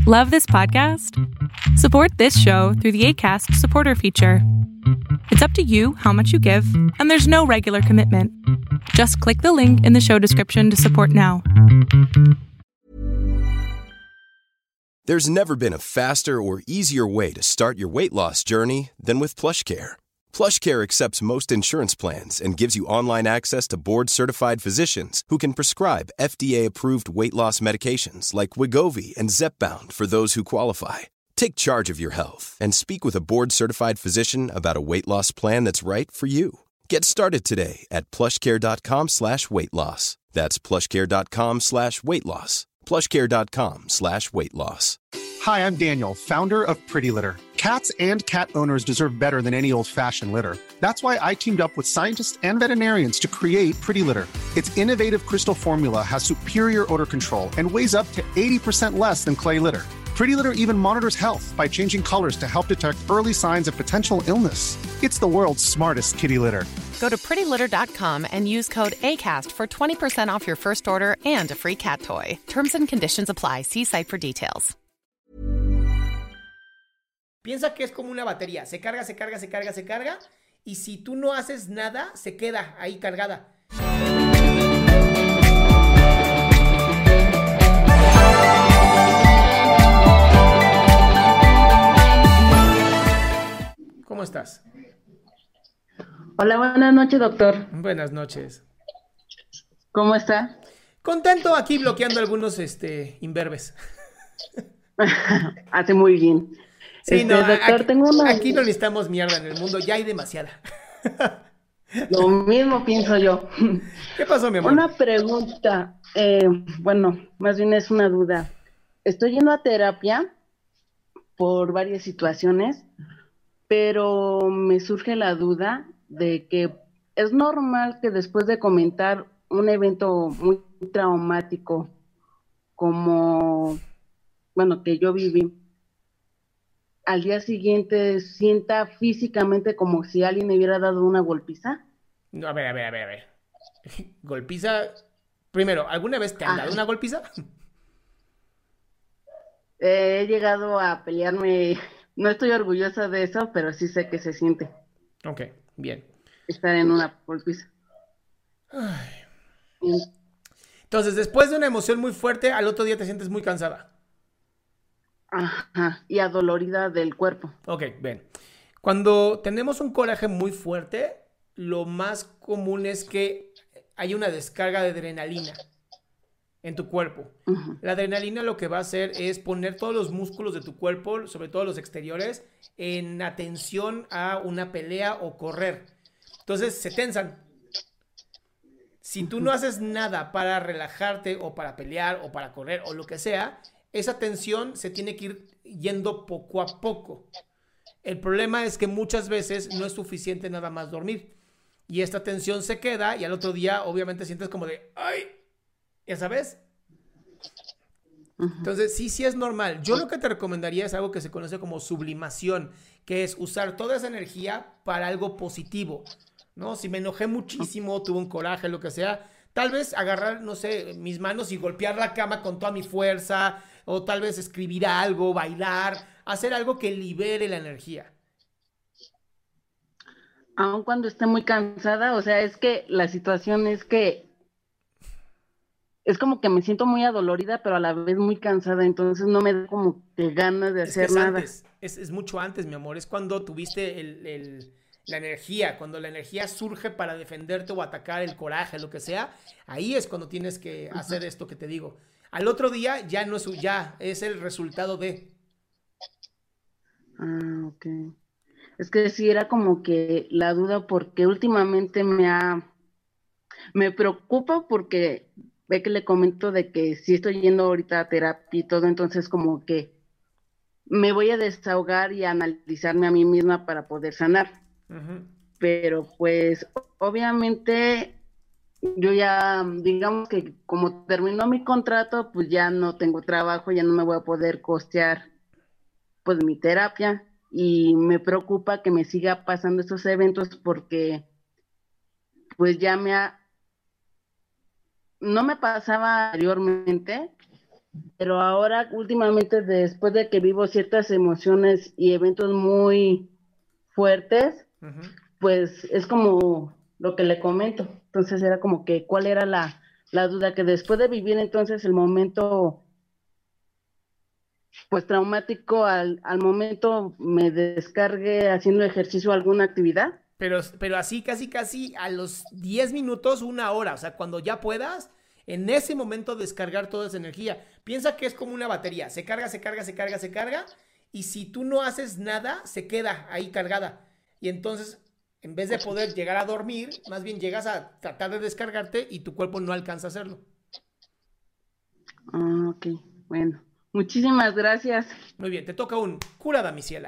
Love this podcast? Support this show through the Acast supporter feature. It's up to you how much you give, and there's no regular commitment. Just click the link in the show description to support now. There's never been a faster or easier way to start your weight loss journey than with PlushCare. PlushCare accepts most insurance plans and gives you online access to board-certified physicians who can prescribe FDA-approved weight loss medications like Wegovy and Zepbound for those who qualify. Take charge of your health and speak with a board-certified physician about a weight loss plan that's right for you. Get started today at plushcare.com/weight loss. That's plushcare.com/weight loss. plushcare.com/weight loss. Hi, I'm Daniel, founder of Pretty Litter. Cats and cat owners deserve better than any old-fashioned litter. That's why I teamed up with scientists and veterinarians to create Pretty Litter. Its innovative crystal formula has superior odor control and weighs up to 80% less than clay litter. Pretty Litter even monitors health by changing colors to help detect early signs of potential illness. It's the world's smartest kitty litter. Go to prettylitter.com and use code ACAST for 20% off your first order and a free cat toy. Terms and conditions apply. See site for details. Piensa que es como una batería. Se carga, se carga, se carga, se carga. Y si tú no haces nada, se queda ahí cargada. ¿Cómo estás? Hola, buenas noches, doctor. Buenas noches. ¿Cómo está? Contento aquí bloqueando algunos imberbes. Hace muy bien. Sí, no, doctor, aquí no necesitamos mierda en el mundo, ya hay demasiada. Lo mismo pienso yo. ¿Qué pasó, mi amor? Una pregunta, bueno, más bien es una duda. Estoy yendo a terapia por varias situaciones, pero me surge la duda de que es normal que después de comentar un evento muy traumático como, bueno, que yo viví, al día siguiente sienta físicamente como si alguien me hubiera dado una golpiza. No, a ver. Golpiza. Primero, ¿alguna vez te han dado una golpiza? He llegado a pelearme, no estoy orgullosa de eso, pero sí sé que se siente. Ok, bien. Estar en una golpiza. Entonces, después de una emoción muy fuerte, al otro día te sientes muy cansada. Ajá, y adolorida del cuerpo. Ok, ven. Cuando tenemos un coraje muy fuerte, lo más común es que hay una descarga de adrenalina en tu cuerpo. Uh-huh. La adrenalina lo que va a hacer es poner todos los músculos de tu cuerpo, sobre todo los exteriores, en atención a una pelea o correr. Entonces se tensan. Si tú no haces nada para relajarte o para pelear o para correr o lo que sea, esa tensión se tiene que ir yendo poco a poco. El problema es que muchas veces no es suficiente nada más dormir. Y esta tensión se queda y al otro día obviamente sientes como de ¡ay! ¿Ya sabes? Entonces sí es normal. Yo lo que te recomendaría es algo que se conoce como sublimación, que es usar toda esa energía para algo positivo, ¿no? Si me enojé muchísimo, tuve un coraje, lo que sea, tal vez agarrar, no sé, mis manos y golpear la cama con toda mi fuerza, o tal vez escribir algo, bailar, hacer algo que libere la energía. Aun cuando esté muy cansada, o sea, es que la situación es que es como que me siento muy adolorida, pero a la vez muy cansada, entonces no me da como que ganas de hacer nada. Es mucho antes, mi amor, es cuando tuviste la energía, cuando la energía surge para defenderte o atacar, el coraje, lo que sea, ahí es cuando tienes que hacer esto que te digo. Al otro día ya no es, ya es el resultado de. Ah, ok. Es que sí era como que la duda porque últimamente me preocupa porque ve que le comento de que sí estoy yendo ahorita a terapia y todo, entonces como que me voy a desahogar y a analizarme a mí misma para poder sanar. Uh-huh. Pero pues obviamente yo ya, digamos que como terminó mi contrato, pues ya no tengo trabajo, ya no me voy a poder costear pues mi terapia y me preocupa que me siga pasando estos eventos porque pues ya no me pasaba anteriormente, Pero ahora, últimamente, después de que vivo ciertas emociones y eventos muy fuertes, pues es como lo que le comento. Entonces era como que, ¿cuál era la duda? Que después de vivir entonces el momento, pues traumático, al momento me descargue haciendo ejercicio o alguna actividad. Pero así casi a los 10 minutos, 1 hora, o sea, cuando ya puedas, en ese momento descargar toda esa energía. Piensa que es como una batería, se carga, y si tú no haces nada, se queda ahí cargada. Y entonces, en vez de poder llegar a dormir, más bien llegas a tratar de descargarte y tu cuerpo no alcanza a hacerlo. Ah, ok, bueno. Muchísimas gracias. Muy bien, te toca un cura damisela.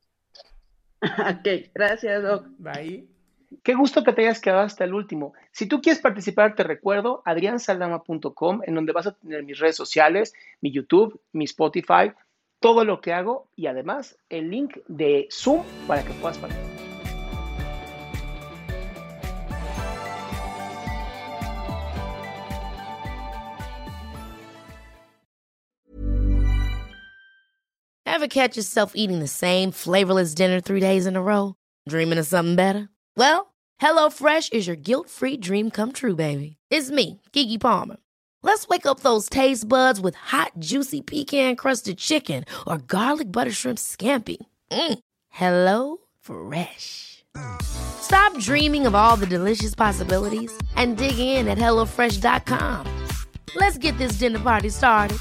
Ok, gracias, Doc. Bye. Qué gusto que te hayas quedado hasta el último. Si tú quieres participar, te recuerdo adriansaldama.com, en donde vas a tener mis redes sociales, mi YouTube, mi Spotify, todo lo que hago y además el link de Zoom para que puedas participar. Ever catch yourself eating the same flavorless dinner 3 days in a row? Dreaming of something better? Well, HelloFresh is your guilt-free dream come true, baby. It's me, Keke Palmer. Let's wake up those taste buds with hot, juicy pecan-crusted chicken or garlic butter shrimp scampi. Hello Fresh. Stop dreaming of all the delicious possibilities and dig in at HelloFresh.com. Let's get this dinner party started.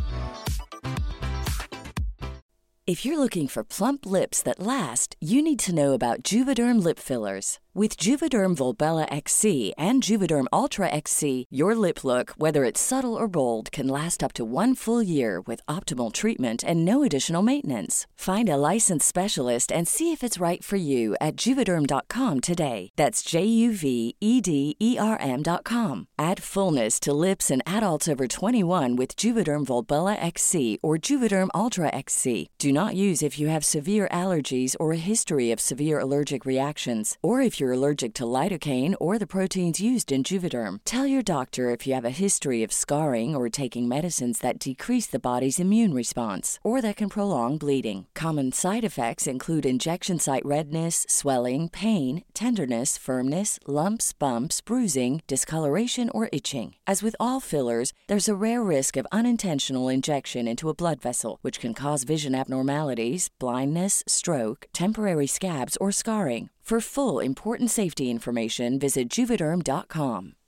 If you're looking for plump lips that last, you need to know about Juvederm lip fillers. With Juvederm Volbella XC and Juvederm Ultra XC, your lip look, whether it's subtle or bold, can last up to 1 full year with optimal treatment and no additional maintenance. Find a licensed specialist and see if it's right for you at Juvederm.com today. That's JUVEDERM.com. Add fullness to lips in adults over 21 with Juvederm Volbella XC or Juvederm Ultra XC. Do not use if you have severe allergies or a history of severe allergic reactions, or if you're allergic to lidocaine or the proteins used in Juvederm. Tell your doctor if you have a history of scarring or taking medicines that decrease the body's immune response or that can prolong bleeding. Common side effects include injection site redness, swelling, pain, tenderness, firmness, lumps, bumps, bruising, discoloration, or itching. As with all fillers, there's a rare risk of unintentional injection into a blood vessel, which can cause vision abnormalities, blindness, stroke, temporary scabs, or scarring. For full, important safety information, visit Juvederm.com.